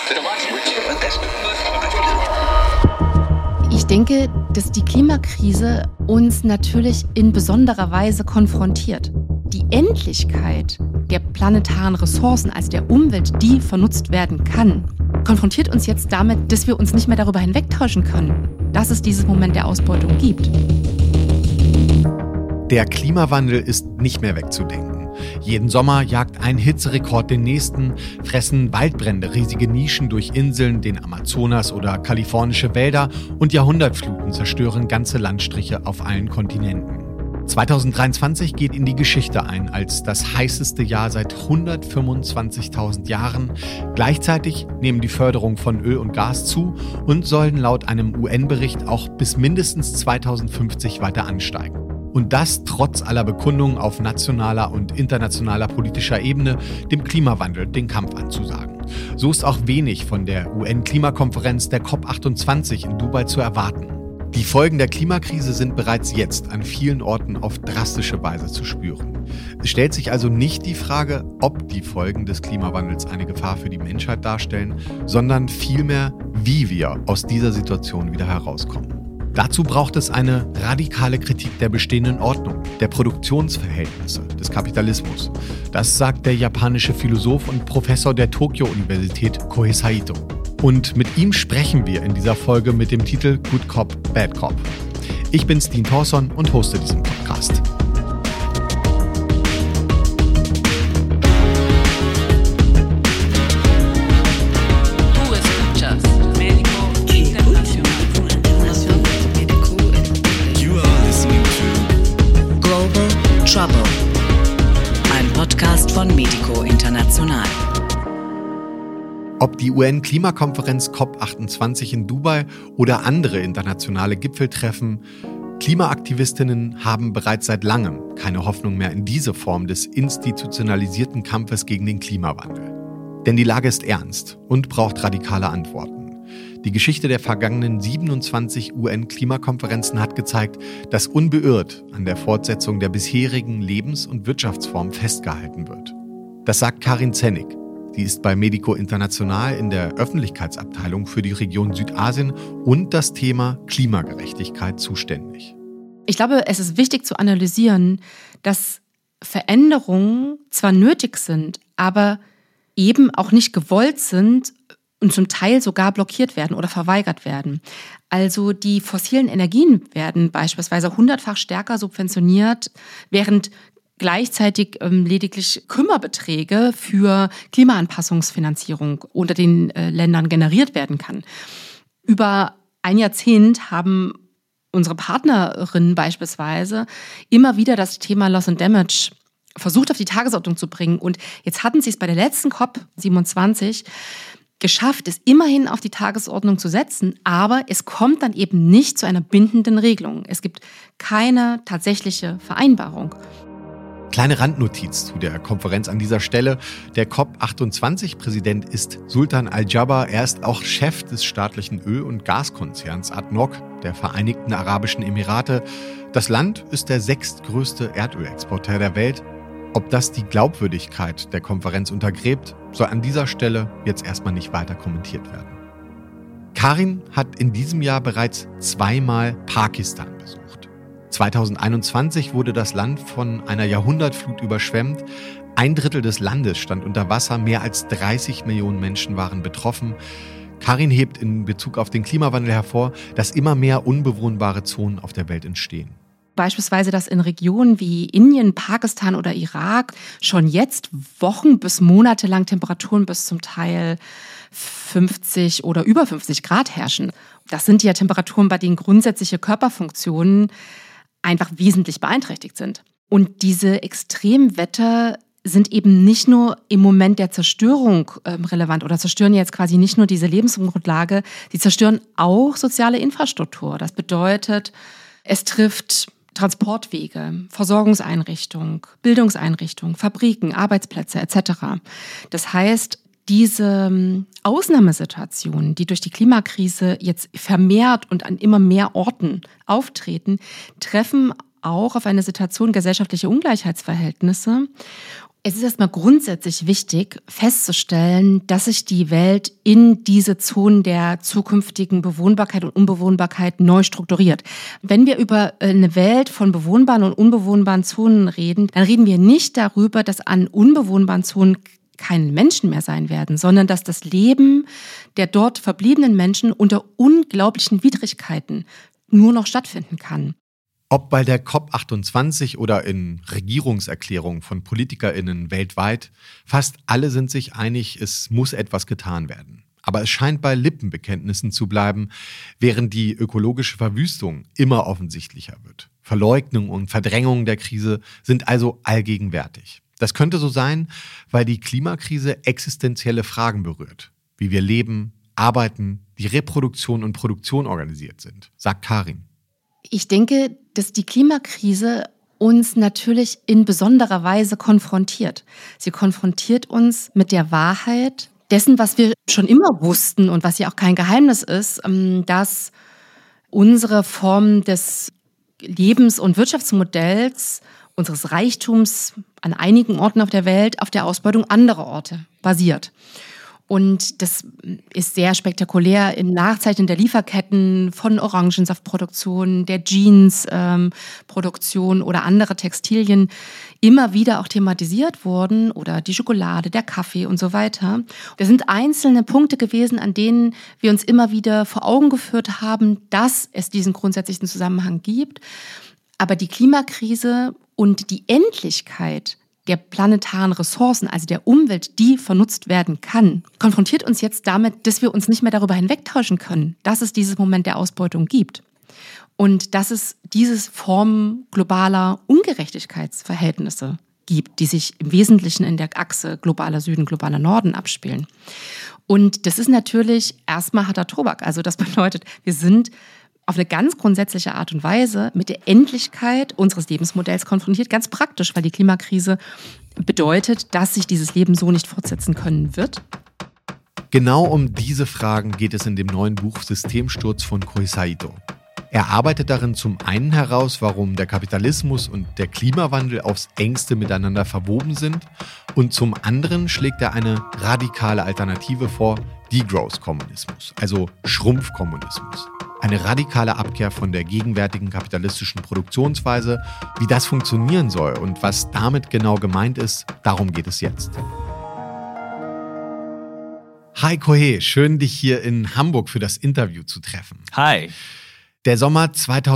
Ich denke, dass die Klimakrise uns natürlich in besonderer Weise konfrontiert. Die Endlichkeit der planetaren Ressourcen, also der Umwelt, die vernutzt werden kann, konfrontiert uns jetzt damit, dass wir uns nicht mehr darüber hinwegtäuschen können, dass es dieses Moment der Ausbeutung gibt. Der Klimawandel ist nicht mehr wegzudenken. Jeden Sommer jagt ein Hitzerekord den nächsten, fressen Waldbrände riesige Nischen durch Inseln, den Amazonas oder kalifornische Wälder und Jahrhundertfluten zerstören ganze Landstriche auf allen Kontinenten. 2023 geht in die Geschichte ein als das heißeste Jahr seit 125.000 Jahren. Gleichzeitig nehmen die Förderung von Öl und Gas zu und sollen laut einem UN-Bericht auch bis mindestens 2050 weiter ansteigen. Und das trotz aller Bekundungen auf nationaler und internationaler politischer Ebene, dem Klimawandel den Kampf anzusagen. So ist auch wenig von der UN-Klimakonferenz der COP28 in Dubai zu erwarten. Die Folgen der Klimakrise sind bereits jetzt an vielen Orten auf drastische Weise zu spüren. Es stellt sich also nicht die Frage, ob die Folgen des Klimawandels eine Gefahr für die Menschheit darstellen, sondern vielmehr, wie wir aus dieser Situation wieder herauskommen. Dazu braucht es eine radikale Kritik der bestehenden Ordnung, der Produktionsverhältnisse, des Kapitalismus. Das sagt der japanische Philosoph und Professor der Tokyo-Universität Kohei Saito. Und mit ihm sprechen wir in dieser Folge mit dem Titel Good Cop, Bad Cop. Ich bin Steen Thorson und hoste diesen Podcast. Trouble. Ein Podcast von Medico International. Ob die UN-Klimakonferenz COP28 in Dubai oder andere internationale Gipfeltreffen, Klimaaktivistinnen haben bereits seit langem keine Hoffnung mehr in diese Form des institutionalisierten Kampfes gegen den Klimawandel. Denn die Lage ist ernst und braucht radikale Antworten. Die Geschichte der vergangenen 27 UN-Klimakonferenzen hat gezeigt, dass unbeirrt an der Fortsetzung der bisherigen Lebens- und Wirtschaftsform festgehalten wird. Das sagt Karin Zennig. Sie ist bei Medico International in der Öffentlichkeitsabteilung für die Region Südasien und das Thema Klimagerechtigkeit zuständig. Ich glaube, es ist wichtig zu analysieren, dass Veränderungen zwar nötig sind, aber eben auch nicht gewollt sind und zum Teil sogar blockiert werden oder verweigert werden. Also die fossilen Energien werden beispielsweise 100-fach stärker subventioniert, während gleichzeitig lediglich Kümmerbeträge für Klimaanpassungsfinanzierung unter den Ländern generiert werden kann. Über ein Jahrzehnt haben unsere Partnerinnen beispielsweise immer wieder das Thema Loss and Damage versucht auf die Tagesordnung zu bringen. Und jetzt hatten sie es bei der letzten COP27 geschafft, es immerhin auf die Tagesordnung zu setzen, aber es kommt dann eben nicht zu einer bindenden Regelung. Es gibt keine tatsächliche Vereinbarung. Kleine Randnotiz zu der Konferenz an dieser Stelle. Der COP28-Präsident ist Sultan Al-Jaber. Er ist auch Chef des staatlichen Öl- und Gaskonzerns ADNOC der Vereinigten Arabischen Emirate. Das Land ist der 6. größte Erdölexporteur der Welt. Ob das die Glaubwürdigkeit der Konferenz untergräbt, soll an dieser Stelle jetzt erstmal nicht weiter kommentiert werden. Karin hat in diesem Jahr bereits 2-mal Pakistan besucht. 2021 wurde das Land von einer Jahrhundertflut überschwemmt. 1/3 des Landes stand unter Wasser, mehr als 30 Millionen Menschen waren betroffen. Karin hebt in Bezug auf den Klimawandel hervor, dass immer mehr unbewohnbare Zonen auf der Welt entstehen. Beispielsweise, dass in Regionen wie Indien, Pakistan oder Irak schon jetzt Wochen bis Monate lang Temperaturen bis zum Teil 50 oder über 50 Grad herrschen. Das sind ja Temperaturen, bei denen grundsätzliche Körperfunktionen einfach wesentlich beeinträchtigt sind. Und diese Extremwetter sind eben nicht nur im Moment der Zerstörung relevant oder zerstören jetzt quasi nicht nur diese Lebensgrundlage, sie zerstören auch soziale Infrastruktur. Das bedeutet, es trifft Transportwege, Versorgungseinrichtungen, Bildungseinrichtungen, Fabriken, Arbeitsplätze etc. Das heißt, diese Ausnahmesituationen, die durch die Klimakrise jetzt vermehrt und an immer mehr Orten auftreten, treffen auch auf eine Situation gesellschaftlicher Ungleichheitsverhältnisse Es ist erstmal grundsätzlich wichtig festzustellen, dass sich die Welt in diese Zonen der zukünftigen Bewohnbarkeit und Unbewohnbarkeit neu strukturiert. Wenn wir über eine Welt von bewohnbaren und unbewohnbaren Zonen reden, dann reden wir nicht darüber, dass an unbewohnbaren Zonen keine Menschen mehr sein werden, sondern dass das Leben der dort verbliebenen Menschen unter unglaublichen Widrigkeiten nur noch stattfinden kann. Ob bei der COP28 oder in Regierungserklärungen von PolitikerInnen weltweit, fast alle sind sich einig, es muss etwas getan werden. Aber es scheint bei Lippenbekenntnissen zu bleiben, während die ökologische Verwüstung immer offensichtlicher wird. Verleugnung und Verdrängung der Krise sind also allgegenwärtig. Das könnte so sein, weil die Klimakrise existenzielle Fragen berührt, wie wir leben, arbeiten, die Reproduktion und Produktion organisiert sind, sagt Karin. Ich denke, dass die Klimakrise uns natürlich in besonderer Weise konfrontiert. Sie konfrontiert uns mit der Wahrheit dessen, was wir schon immer wussten und was ja auch kein Geheimnis ist, dass unsere Form des Lebens- und Wirtschaftsmodells, unseres Reichtums an einigen Orten auf der Welt auf der Ausbeutung anderer Orte basiert. Und das ist sehr spektakulär im Nachzeichnen der Lieferketten von Orangensaftproduktion, der Jeansproduktion oder andere Textilien immer wieder auch thematisiert worden oder die Schokolade, der Kaffee und so weiter. Das sind einzelne Punkte gewesen, an denen wir uns immer wieder vor Augen geführt haben, dass es diesen grundsätzlichen Zusammenhang gibt. Aber die Klimakrise und die Endlichkeit der planetaren Ressourcen, also der Umwelt, die vernutzt werden kann, konfrontiert uns jetzt damit, dass wir uns nicht mehr darüber hinwegtäuschen können, dass es dieses Moment der Ausbeutung gibt und dass es diese Form globaler Ungerechtigkeitsverhältnisse gibt, die sich im Wesentlichen in der Achse globaler Süden, globaler Norden abspielen. Und das ist natürlich erstmal harter Tobak. Also das bedeutet, wir sind auf eine ganz grundsätzliche Art und Weise mit der Endlichkeit unseres Lebensmodells konfrontiert, ganz praktisch, weil die Klimakrise bedeutet, dass sich dieses Leben so nicht fortsetzen können wird. Genau um diese Fragen geht es in dem neuen Buch Systemsturz von Kohei Saito. Er arbeitet darin zum einen heraus, warum der Kapitalismus und der Klimawandel aufs Engste miteinander verwoben sind, und zum anderen schlägt er eine radikale Alternative vor, Degrowth-Kommunismus, also Schrumpfkommunismus. Eine radikale Abkehr von der gegenwärtigen kapitalistischen Produktionsweise. Wie das funktionieren soll und was damit genau gemeint ist, darum geht es jetzt. Hi Kohei, schön dich hier in Hamburg für das Interview zu treffen. Hi. Der Sommer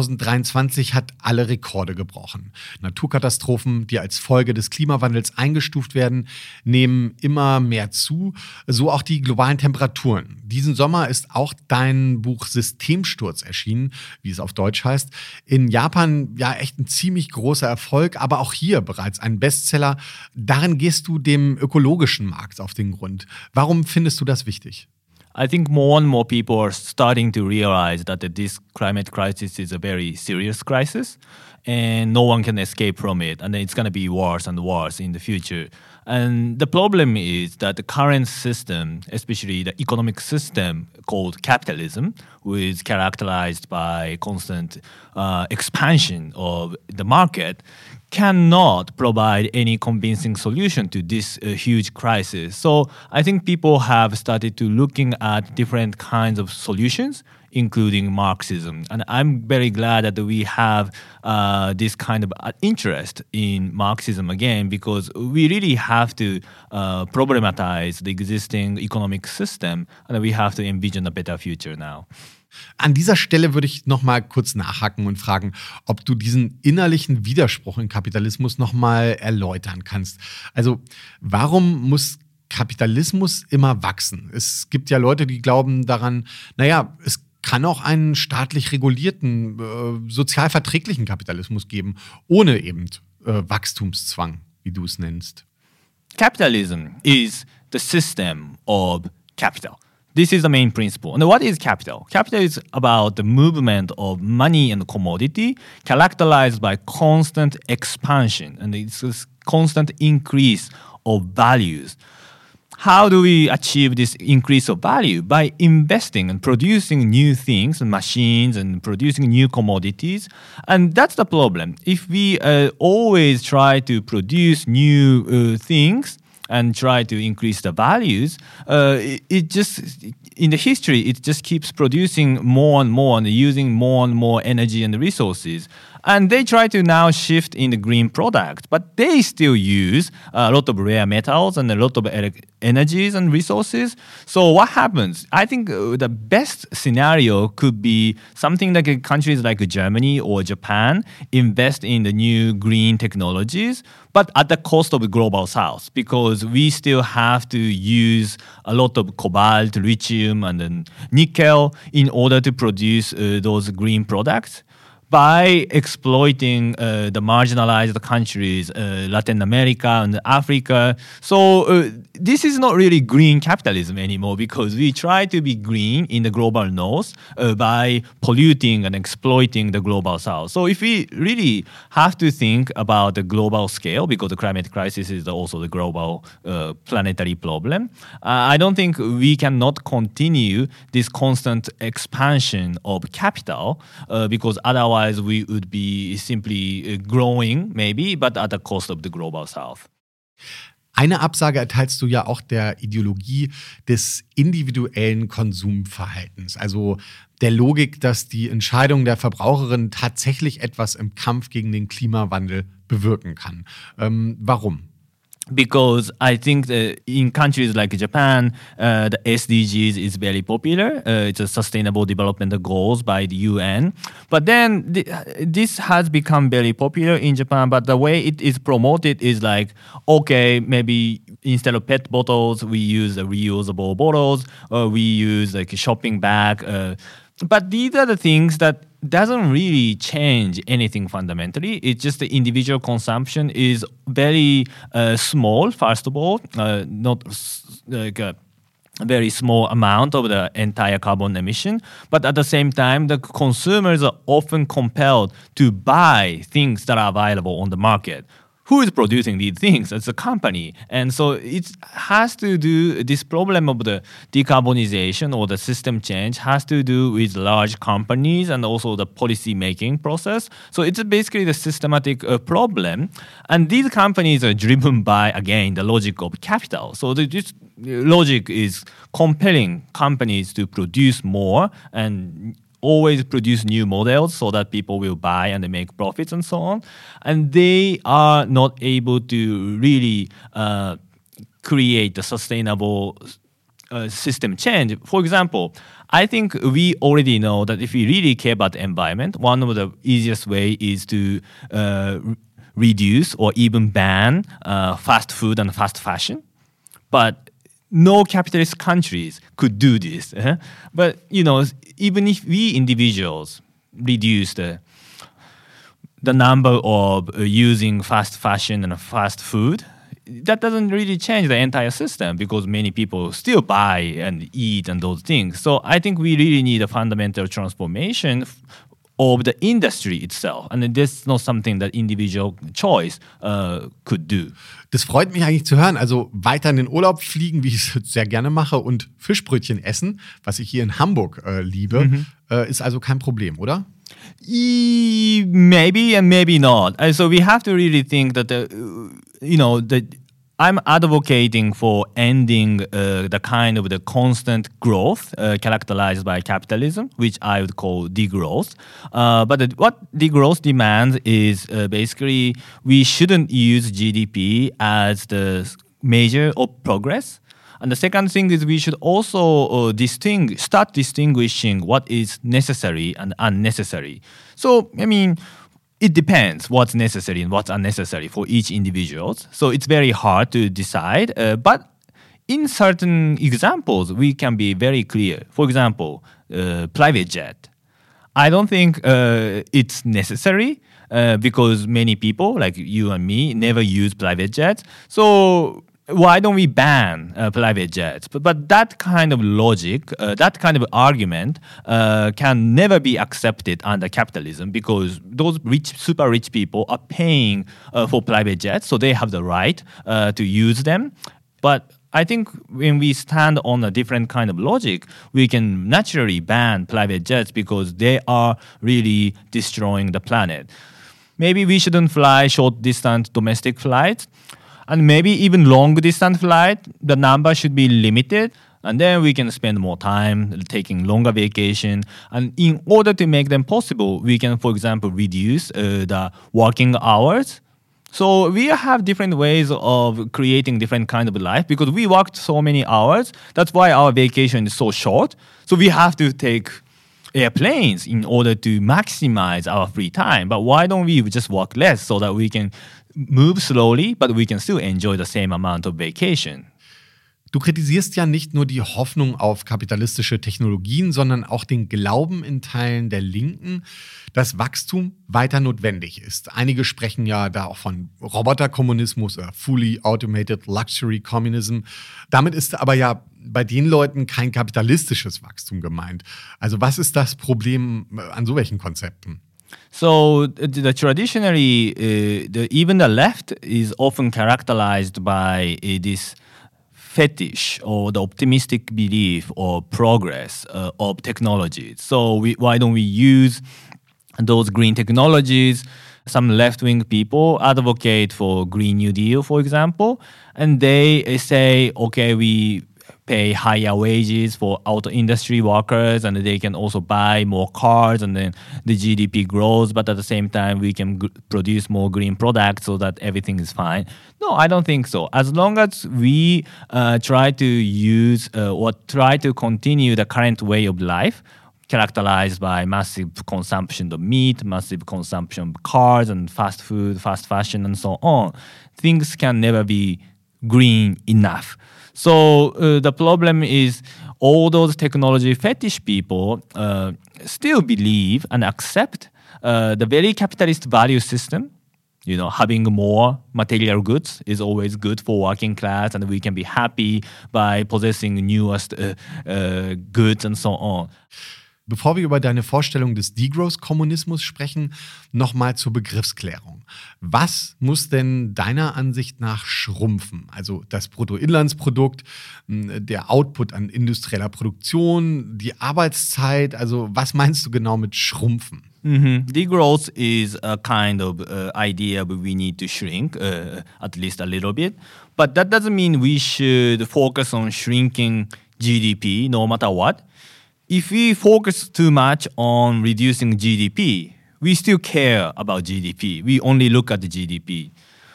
2023 hat alle Rekorde gebrochen. Naturkatastrophen, die als Folge des Klimawandels eingestuft werden, nehmen immer mehr zu, so auch die globalen Temperaturen. Diesen Sommer ist auch dein Buch Systemsturz erschienen, wie es auf Deutsch heißt. In Japan ja echt ein ziemlich großer Erfolg, aber auch hier bereits ein Bestseller. Darin gehst du dem ökologischen Markt auf den Grund. Warum findest du das wichtig? I think more and more people are starting to realize that this climate crisis is a very serious crisis and no one can escape from it, and it's going to be worse and worse in the future. And the problem is that the current system, especially the economic system called capitalism, which is characterized by constant expansion of the market, cannot provide any convincing solution to this huge crisis. So I think people have started to looking at different kinds of solutions, including Marxism. And I'm very glad that we have this kind of interest in Marxism again, because we really have to problematize the existing economic system, and we have to envision a better future now. An dieser Stelle würde ich noch mal kurz nachhaken und fragen, ob du diesen innerlichen Widerspruch im Kapitalismus noch mal erläutern kannst. Also, warum muss Kapitalismus immer wachsen? Es gibt ja Leute, die glauben daran, naja, es kann auch einen staatlich regulierten, sozial verträglichen Kapitalismus geben, ohne eben Wachstumszwang, wie du es nennst. Capitalism is the system of capital. This is the main principle. And what is capital? Capital is about the movement of money and commodity characterized by constant expansion, and it's a constant increase of values. how do we achieve this increase of value? By investing and producing new things and machines and producing new commodities. And that's the problem. If we always try to produce new things and try to increase the values, it just, in the history, it just keeps producing more and more and using more and more energy and resources. And they try to now shift in the green product, but they still use a lot of rare metals and a lot of energies and resources. So what happens? I think the best scenario could be something like countries like Germany or Japan invest in the new green technologies, but at the cost of the global south, because we still have to use a lot of cobalt, lithium, and then nickel in order to produce those green products. By exploiting the marginalized countries, Latin America and Africa. So this is not really green capitalism anymore, because we try to be green in the global north by polluting and exploiting the global south. So if we really have to think about the global scale, because the climate crisis is also the global planetary problem, I don't think we cannot continue this constant expansion of capital, because otherwise we would be simply growing, maybe, but at the cost of the global south. Eine Absage erteilst du ja auch der Ideologie des individuellen Konsumverhaltens, also der Logik, dass die Entscheidung der Verbraucherin tatsächlich etwas im Kampf gegen den Klimawandel bewirken kann. Warum? Because I think that in countries like Japan, the SDGs is very popular. It's a Sustainable Development Goals by the UN. But then this has become very popular in Japan. But the way it is promoted is like, okay, maybe instead of PET bottles, we use reusable bottles, or we use like a shopping bag. But these are the things that doesn't really change anything fundamentally. It's just the individual consumption is very small, first of all, not like a very small amount of the entire carbon emission. But at the same time, the consumers are often compelled to buy things that are available on the market. Who is producing these things? It's a company. And so it has to do, this problem of the decarbonization or the system change has to do with large companies and also the policy making process. So it's basically the systematic problem. And these companies are driven by, again, the logic of capital. So this logic is compelling companies to produce more and always produce new models so that people will buy and they make profits and so on. And they are not able to really create a sustainable system change. For example, I think we already know that if we really care about the environment, one of the easiest way is to reduce or even ban fast food and fast fashion. But no capitalist countries could do this. But, you know, even if we individuals reduce the number of using fast fashion and fast food, that doesn't really change the entire system because many people still buy and eat and those things. So I think we really need a fundamental transformation of the industry itself. And this is not something that individual choice could do. Das freut mich eigentlich zu hören. Also weiter in den Urlaub fliegen, wie ich es sehr gerne mache, und Fischbrötchen essen, was ich hier in Hamburg liebe, ist also kein Problem, oder? Maybe and maybe not. So we have to really think that I'm advocating for ending the kind of the constant growth characterized by capitalism, which I would call degrowth. But what degrowth demands is basically we shouldn't use GDP as the measure of progress. And the second thing is we should also start distinguishing what is necessary and unnecessary. So, I mean, it depends what's necessary and what's unnecessary for each individual. So it's very hard to decide. But in certain examples, we can be very clear. For example, private jet. I don't think it's necessary because many people, like you and me, never use private jets. So why don't we ban private jets? But that kind of logic, that kind of argument can never be accepted under capitalism because those rich, super rich people are paying for private jets, so they have the right to use them. But I think when we stand on a different kind of logic, we can naturally ban private jets because they are really destroying the planet. Maybe we shouldn't fly short-distance domestic flights, and maybe even long-distance flight, the number should be limited, and then we can spend more time taking longer vacation. And in order to make them possible, we can, for example, reduce the working hours. So we have different ways of creating different kind of life because we worked so many hours. That's why our vacation is so short. So we have to take airplanes in order to maximize our free time. But why don't we just work less so that we can move slowly, but we can still enjoy the same amount of vacation? Du kritisierst ja nicht nur die Hoffnung auf kapitalistische Technologien, sondern auch den Glauben in Teilen der Linken, dass Wachstum weiter notwendig ist. Einige sprechen ja da auch von Roboterkommunismus oder Fully Automated Luxury Communism. Damit ist aber ja bei den Leuten kein kapitalistisches Wachstum gemeint. Also was ist das Problem an so welchen Konzepten? So traditionally, even the left is often characterized by this fetish or the optimistic belief or progress of technology. So why don't we use those green technologies? Some left-wing people advocate for Green New Deal, for example, and they say, okay, we pay higher wages for auto industry workers and they can also buy more cars and then the GDP grows, but at the same time we can produce more green products so that everything is fine. No, I don't think so. As long as we try to use or try to continue the current way of life, characterized by massive consumption of meat, massive consumption of cars and fast food, fast fashion and so on, things can never be green enough. So the problem is all those technology fetish people still believe and accept the very capitalist value system. You know, having more material goods is always good for working class and we can be happy by possessing newest goods and so on. Bevor wir über deine Vorstellung des Degrowth-Kommunismus sprechen, nochmal zur Begriffsklärung. Was muss denn deiner Ansicht nach schrumpfen? Also das Bruttoinlandsprodukt, der Output an industrieller Produktion, die Arbeitszeit, also was meinst du genau mit schrumpfen? Degrowth is a kind of idea but we need to shrink, at least a little bit. But that doesn't mean we should focus on shrinking GDP no matter what. If we focus too much on reducing GDP, we still care about GDP. We only look at the GDP.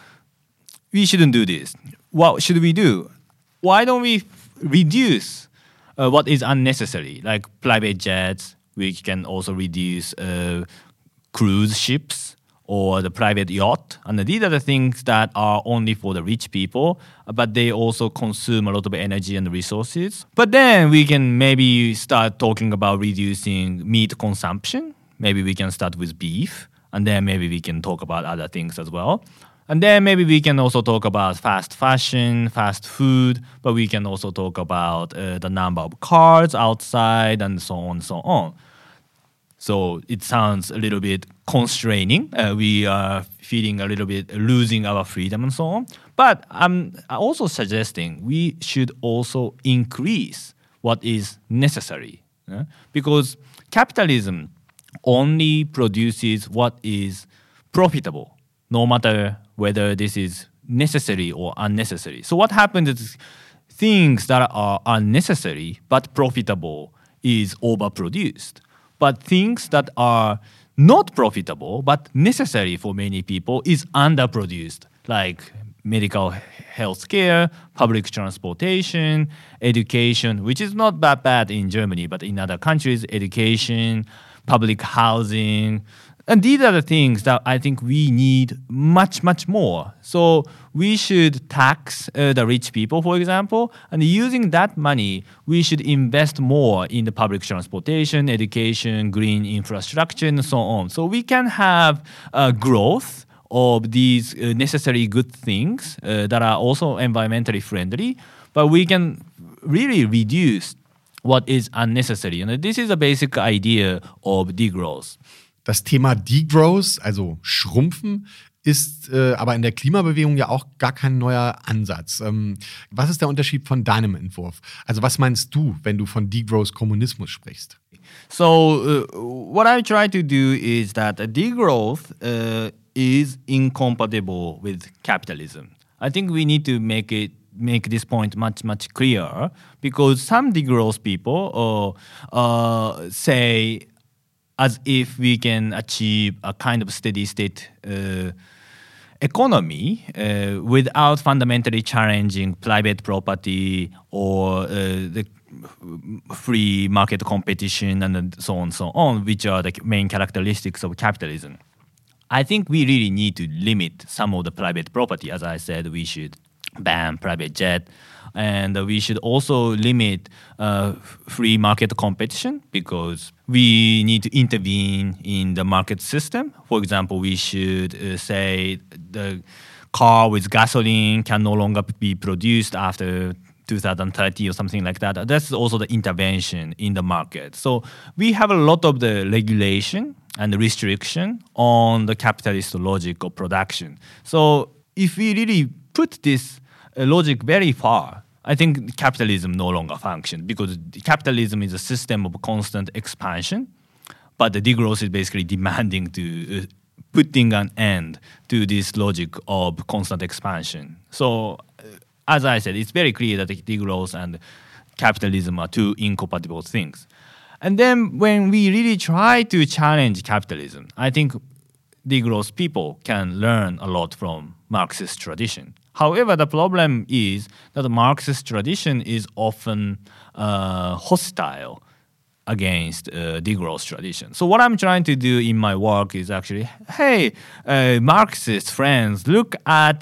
We shouldn't do this. What should we do? Why don't we reduce what is unnecessary, like private jets? We can also reduce cruise ships or the private yacht. And these are the things that are only for the rich people, but they also consume a lot of energy and resources. But then we can maybe start talking about reducing meat consumption. Maybe we can start with beef, and then maybe we can talk about other things as well. And then maybe we can also talk about fast fashion, fast food, but we can also talk about the number of cars outside and so on and so on. So it sounds a little bit constraining. We are feeling a little bit losing our freedom and so on. But I'm also suggesting we should also increase what is necessary. Because capitalism only produces what is profitable, no matter whether this is necessary or unnecessary. So what happens is things that are unnecessary but profitable is overproduced. But things that are not profitable but necessary for many people is underproduced, like medical health care, public transportation, education, which is not that bad in Germany, but in other countries, education, public housing. And these are the things that I think we need much, much more. So we should tax the rich people, for example, and using that money, we should invest more in the public transportation, education, green infrastructure, and so on. So we can have growth of these necessary good things that are also environmentally friendly, but we can really reduce what is unnecessary. And this is a basic idea of degrowth. Das Thema Degrowth, also Schrumpfen, ist aber in der Klimabewegung ja auch gar kein neuer Ansatz. Was ist der Unterschied von deinem Entwurf? Also was meinst du, wenn du von Degrowth-Kommunismus sprichst? So what I try to do is that degrowth is incompatible with capitalism. I think we need to make this point much clearer, because some degrowth people say as if we can achieve a kind of steady state economy without fundamentally challenging private property or the free market competition and so on, which are the main characteristics of capitalism. I think we really need to limit some of the private property. As I said, we should ban private jet, and we should also limit free market competition, because we need to intervene in the market system. For example, we should say the car with gasoline can no longer be produced after 2030 or something like that. That's also the intervention in the market. So we have a lot of the regulation and the restriction on the capitalist logic of production. So if we really put this logic very far, I think capitalism no longer functions, because capitalism is a system of constant expansion, but the degrowth is basically demanding to putting an end to this logic of constant expansion. So as I said, it's very clear that degrowth and capitalism are two incompatible things. And then when we really try to challenge capitalism, I think degrowth people can learn a lot from Marxist tradition. However, the problem is that the Marxist tradition is often hostile against degrowth tradition. So what I'm trying to do in my work is actually, hey, Marxist friends, look at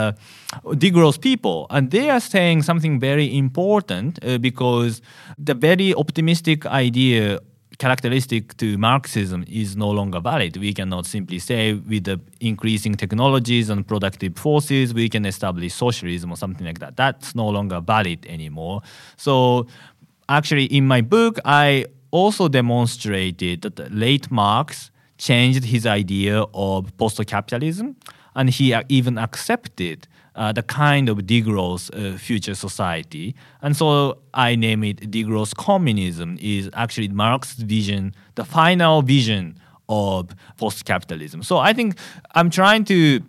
degrowth people, and they are saying something very important because the very optimistic idea characteristic to Marxism is no longer valid. We cannot simply say with the increasing technologies and productive forces, we can establish socialism or something like that. That's no longer valid anymore. So actually, in my book, I also demonstrated that late Marx changed his idea of post-capitalism, and he even accepted the kind of degrowth future society. And so I name it degrowth communism, is actually Marx's vision, the final vision of post-capitalism. So I think I'm trying to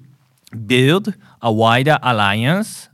build a wider alliance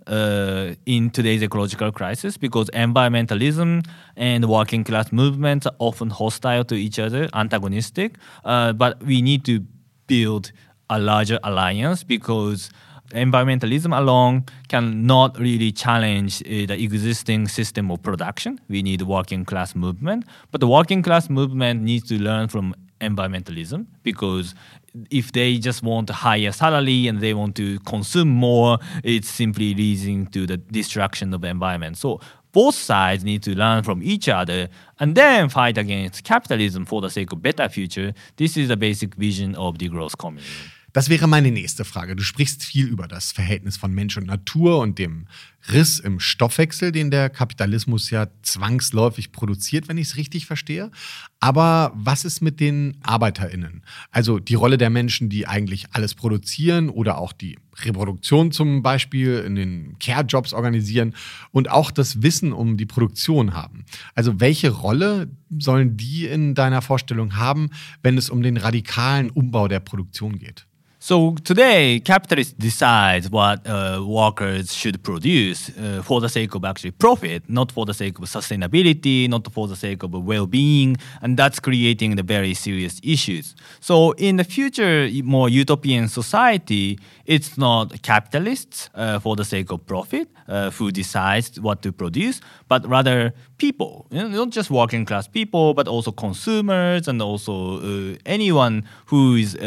in today's ecological crisis, because environmentalism and working class movements are often hostile to each other, antagonistic. But we need to build a larger alliance, because environmentalism alone cannot really challenge the existing system of production. We need a working class movement. But the working class movement needs to learn from environmentalism, because if they just want a higher salary and they want to consume more, it's simply leading to the destruction of the environment. So both sides need to learn from each other and then fight against capitalism for the sake of better future. This is the basic vision of degrowth communism. Das wäre meine nächste Frage. Du sprichst viel über das Verhältnis von Mensch und Natur und dem Riss im Stoffwechsel, den der Kapitalismus ja zwangsläufig produziert, wenn ich es richtig verstehe. Aber was ist mit den ArbeiterInnen? Also die Rolle der Menschen, die eigentlich alles produzieren oder auch die Reproduktion zum Beispiel in den Care-Jobs organisieren und auch das Wissen um die Produktion haben. Also welche Rolle sollen die in deiner Vorstellung haben, wenn es um den radikalen Umbau der Produktion geht? So today, capitalists decide what workers should produce for the sake of actually profit, not for the sake of sustainability, not for the sake of well-being, and that's creating the very serious issues. So in the future, more utopian society, it's not capitalists for the sake of profit who decides what to produce, but rather people, not just working class people, but also consumers and also anyone who is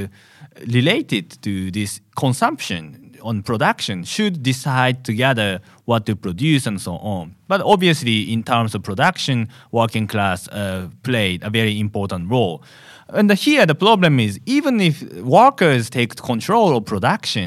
related to this consumption on production should decide together what to produce and so on. But obviously, in terms of production, working class played a very important role. And here the problem is, even if workers take control of production,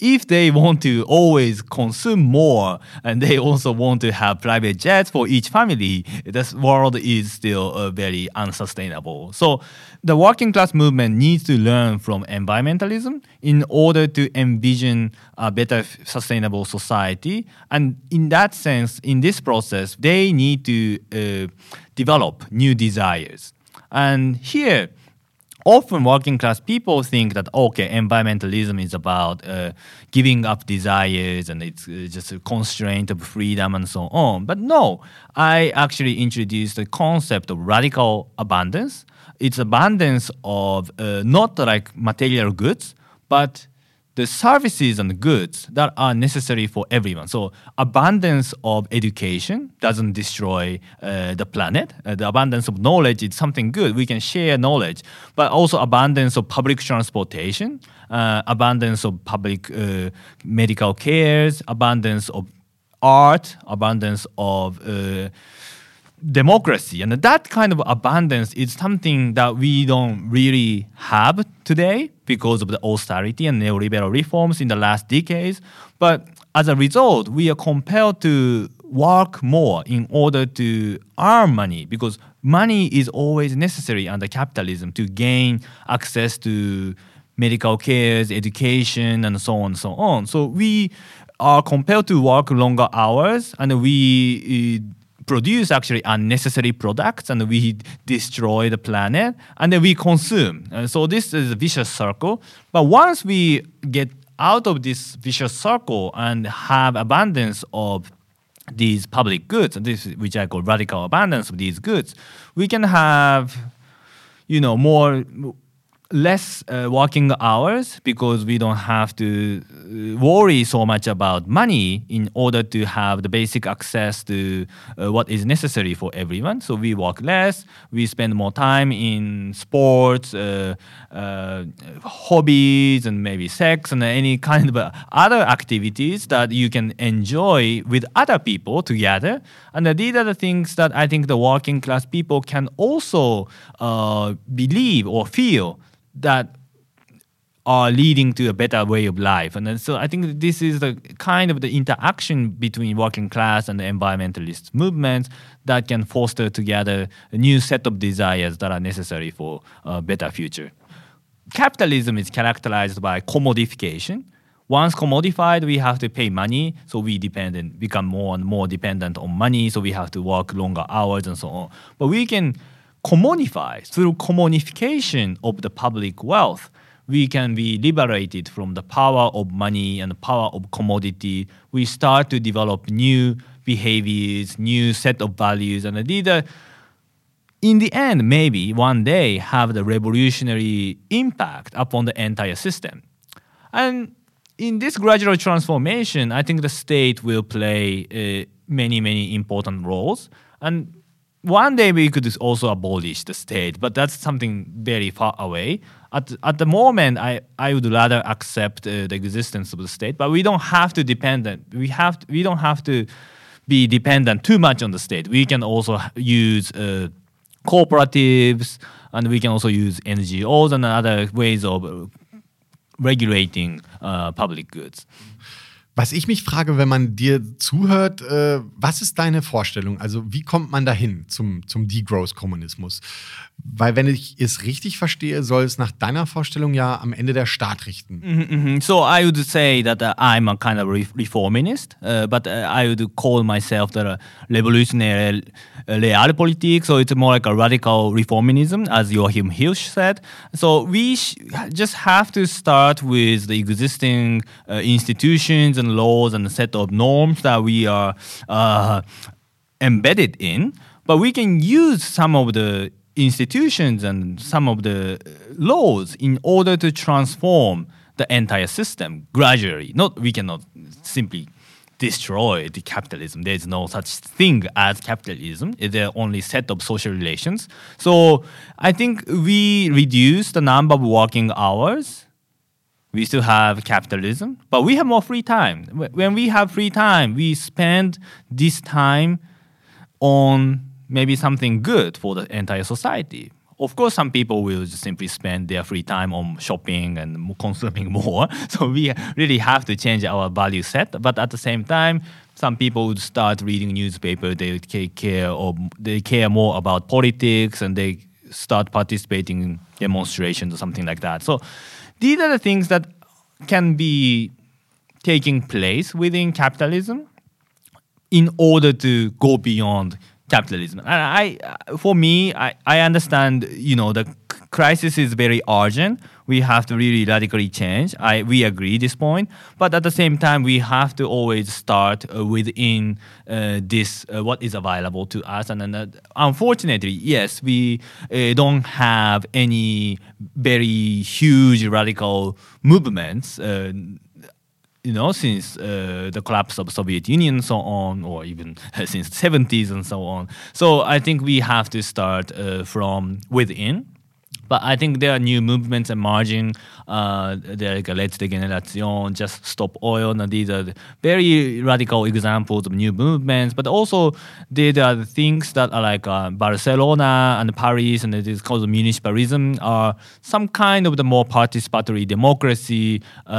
if they want to always consume more and they also want to have private jets for each family, this world is still very unsustainable. So the working class movement needs to learn from environmentalism in order to envision a better sustainable society. And in that sense, in this process, they need to develop new desires. And here, often working class people think that, okay, environmentalism is about giving up desires and it's just a constraint of freedom and so on. But no, I actually introduced the concept of radical abundance. It's abundance of not like material goods, but the services and goods that are necessary for everyone. So abundance of education doesn't destroy the planet. The abundance of knowledge is something good. We can share knowledge. But also abundance of public transportation, abundance of public medical cares, abundance of art, abundance of democracy. And that kind of abundance is something that we don't really have today because of the austerity and neoliberal reforms in the last decades. But as a result, we are compelled to work more in order to earn money because money is always necessary under capitalism to gain access to medical cares, education, and so on and so on. So we are compelled to work longer hours and we produce actually unnecessary products and we destroy the planet and then we consume. And so this is a vicious circle. But once we get out of this vicious circle and have abundance of these public goods, this which I call radical abundance of these goods, we can have, less working hours because we don't have to worry so much about money in order to have the basic access to what is necessary for everyone. So we work less, we spend more time in sports, hobbies, and maybe sex and any kind of other activities that you can enjoy with other people together. And these are the things that I think the working class people can also believe or feel that are leading to a better way of life. And so I think this is the kind of the interaction between working class and the environmentalist movements that can foster together a new set of desires that are necessary for a better future. Capitalism is characterized by commodification. Once commodified, we have to pay money, so we become more and more dependent on money, so we have to work longer hours and so on. But we can commodify through commodification of the public wealth. We can be liberated from the power of money and the power of commodity. We start to develop new behaviors, new set of values, and these are, in the end, maybe one day have the revolutionary impact upon the entire system. And in this gradual transformation, I think the state will play many, many important roles. And one day we could also abolish the state, but that's something very far away. At the moment, I would rather accept the existence of the state, but we don't have to we don't have to be dependent too much on the state. We can also use cooperatives, and we can also use NGOs and other ways of regulating public goods. Was ich mich frage, wenn man dir zuhört, was ist deine Vorstellung? Also wie kommt man dahin zum Degrowth-Kommunismus? Weil wenn ich es richtig verstehe, soll es nach deiner Vorstellung ja am Ende der Staat richten. So I would say that I'm a kind of reformist, but I would call myself the revolutionary realpolitik. So it's more like a radical reformism, as Joachim Hirsch said. So we just have to start with the existing institutions and laws and a set of norms that we are embedded in, but we can use some of the institutions and some of the laws in order to transform the entire system gradually. We cannot simply destroy the capitalism. There's no such thing as capitalism. There are only set of social relations. So I think we reduce the number of working hours. We still have capitalism, but we have more free time. When we have free time, we spend this time on maybe something good for the entire society. Of course, some people will just simply spend their free time on shopping and consuming more. So we really have to change our value set. But at the same time, some people would start reading newspaper. They care more about politics, and they start participating in demonstrations or something like that. So these are the things that can be taking place within capitalism in order to go beyond capitalism. And I understand, the crisis is very urgent. We have to really radically change. We agree this point. But at the same time, we have to always start within this, what is available to us. And then, unfortunately, yes, we don't have any very huge radical movements since the collapse of Soviet Union and so on, or even since the 70s and so on. So I think we have to start from within. But I think there are new movements emerging. There like Let's Degeneration, Just Stop Oil. And these are very radical examples of new movements. But also there are the things that are like Barcelona and Paris, and it is called municipalism, are some kind of the more participatory democracy,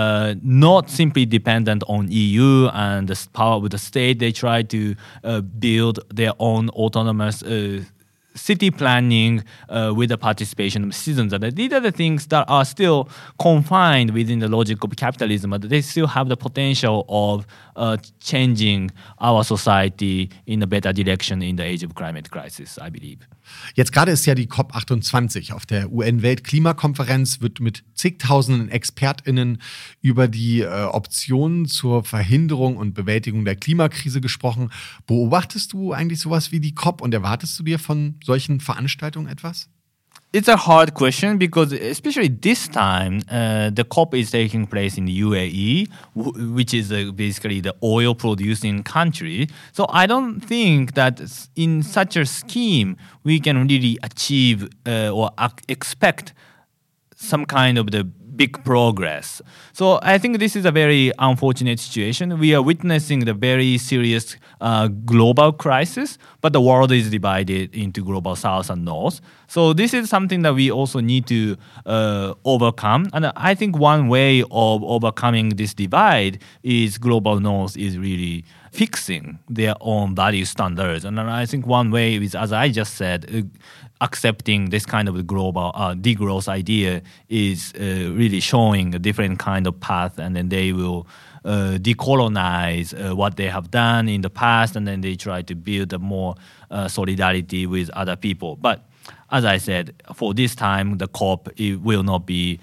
not simply dependent on EU and the power of the state. They try to build their own autonomous city planning with the participation of citizens. And these are the things that are still confined within the logic of capitalism, but they still have the potential of changing our society in a better direction in the age of climate crisis, I believe. Jetzt gerade ist ja die COP28. Auf der UN-Weltklimakonferenz wird mit zigtausenden ExpertInnen über die Optionen zur Verhinderung und Bewältigung der Klimakrise gesprochen. Beobachtest du eigentlich sowas wie die COP und erwartest du dir von solchen Veranstaltungen etwas? It's a hard question because especially this time, the COP is taking place in the UAE, which is basically the oil-producing country. So I don't think that in such a scheme we can really achieve or expect some kind of the big progress. So I think this is a very unfortunate situation. We are witnessing the very serious global crisis, but the world is divided into global south and north. So this is something that we also need to overcome. And I think one way of overcoming this divide is global north is really fixing their own value standards. And I think one way is, as I just said, accepting this kind of global degrowth idea is really showing a different kind of path, and then they will decolonize what they have done in the past, and then they try to build a more solidarity with other people. But as I said, for this time, the COP, it will not be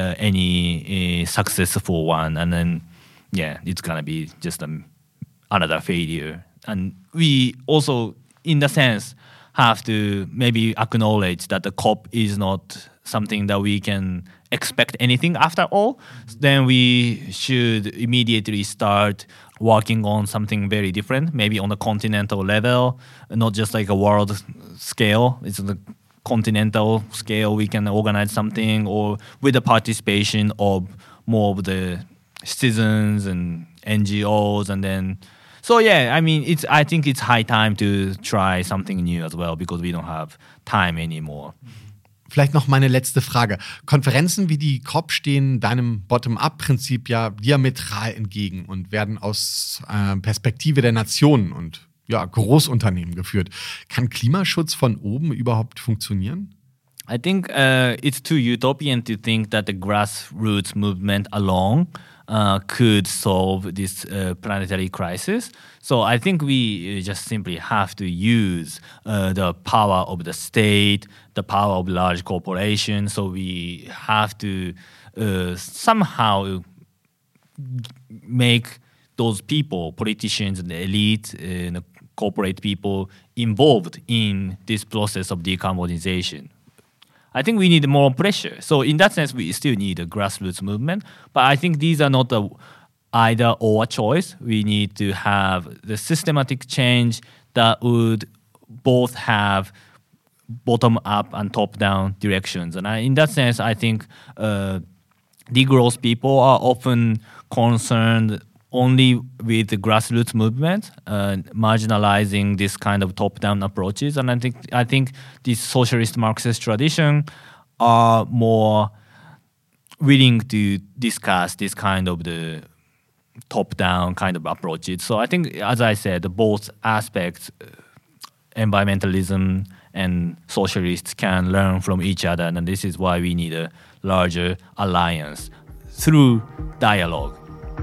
any successful one, and then it's gonna be just another failure. And we also, in the sense, have to maybe acknowledge that the COP is not something that we can expect anything after all. Then we should immediately start working on something very different, maybe on a continental level, not just like a world scale. It's on the continental scale we can organize something, or with the participation of more of the citizens and NGOs, and then I think it's high time to try something new as well, because we don't have time anymore. Vielleicht noch meine letzte Frage. Konferenzen wie die COP stehen deinem Bottom-up-Prinzip ja diametral entgegen und werden aus Perspektive der Nationen und Großunternehmen geführt. Kann Klimaschutz von oben überhaupt funktionieren? I think it's too utopian to think that the grassroots movement alone could solve this planetary crisis. So I think we just simply have to use the power of the state, the power of large corporations. So we have to somehow make those people, politicians and the elite, corporate people, involved in this process of decarbonization. I think we need more pressure. So in that sense, we still need a grassroots movement. But I think these are not the either or choice. We need to have the systematic change that would both have bottom-up and top-down directions. And in that sense, I think degrowth people are often concerned only with the grassroots movement, marginalizing this kind of top-down approaches. And I think this socialist Marxist tradition are more willing to discuss this kind of the top-down kind of approaches. So I think, as I said, both aspects, environmentalism and socialists can learn from each other, and this is why we need a larger alliance through dialogue.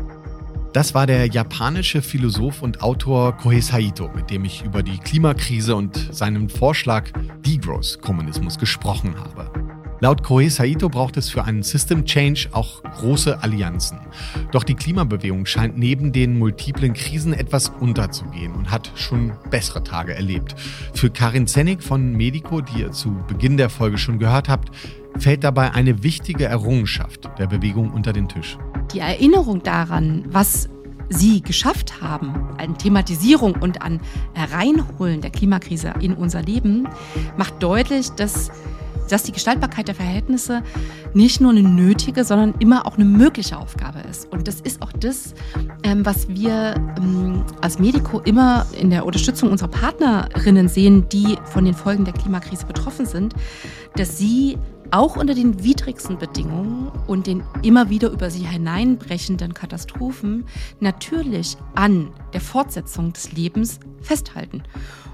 Das war der japanische Philosoph und Autor Kohei Saito, mit dem ich über die Klimakrise und seinen Vorschlag Degrowth-Kommunismus gesprochen habe. Laut Kohei Saito braucht es für einen System Change auch große Allianzen. Doch die Klimabewegung scheint neben den multiplen Krisen etwas unterzugehen und hat schon bessere Tage erlebt. Für Karin Zennig von Medico, die ihr zu Beginn der Folge schon gehört habt, fällt dabei eine wichtige Errungenschaft der Bewegung unter den Tisch. Die Erinnerung daran, was sie geschafft haben, an Thematisierung und an Hereinholen der Klimakrise in unser Leben, macht deutlich, dass die Gestaltbarkeit der Verhältnisse nicht nur eine nötige, sondern immer auch eine mögliche Aufgabe ist. Und das ist auch das, was wir als Medico immer in der Unterstützung unserer Partnerinnen sehen, die von den Folgen der Klimakrise betroffen sind, dass sie auch unter den widrigsten Bedingungen und den immer wieder über sie hineinbrechenden Katastrophen natürlich an der Fortsetzung des Lebens festhalten.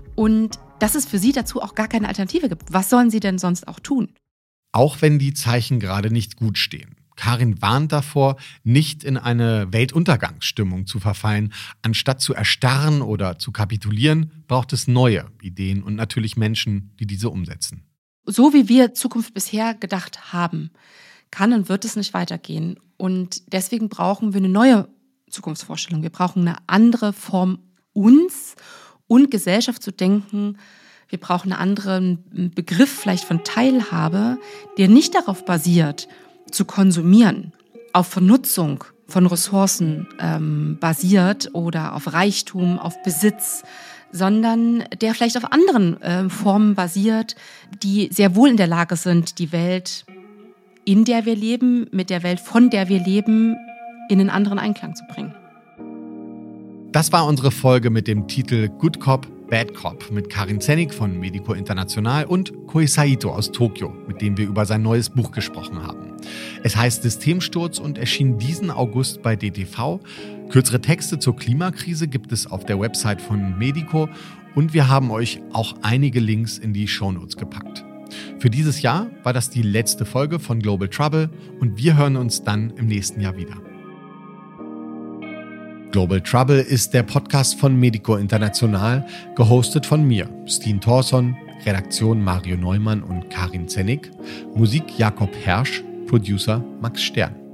Und dass es für sie dazu auch gar keine Alternative gibt. Was sollen sie denn sonst auch tun? Auch wenn die Zeichen gerade nicht gut stehen. Karin warnt davor, nicht in eine Weltuntergangsstimmung zu verfallen. Anstatt zu erstarren oder zu kapitulieren, braucht es neue Ideen und natürlich Menschen, die diese umsetzen. So wie wir Zukunft bisher gedacht haben, kann und wird es nicht weitergehen. Und deswegen brauchen wir eine neue Zukunftsvorstellung. Wir brauchen eine andere Form, uns und Gesellschaft zu denken. Wir brauchen einen anderen Begriff vielleicht von Teilhabe, der nicht darauf basiert, zu konsumieren, auf Vernutzung von Ressourcen basiert oder auf Reichtum, auf Besitz, sondern der vielleicht auf anderen Formen basiert, die sehr wohl in der Lage sind, die Welt, in der wir leben, mit der Welt, von der wir leben, in einen anderen Einklang zu bringen. Das war unsere Folge mit dem Titel Good Cop, Bad Cop mit Karin Zennig von Medico International und Kohei Saito aus Tokio, mit dem wir über sein neues Buch gesprochen haben. Es heißt Systemsturz und erschien diesen August bei DTV. Kürzere Texte zur Klimakrise gibt es auf der Website von Medico und wir haben euch auch einige Links in die Shownotes gepackt. Für dieses Jahr war das die letzte Folge von Global Trouble und wir hören uns dann im nächsten Jahr wieder. Global Trouble ist der Podcast von Medico International, gehostet von mir, Steen Thorson, Redaktion Mario Neumann und Karin Zennig, Musik Jakob Hersch, Producer Max Stern.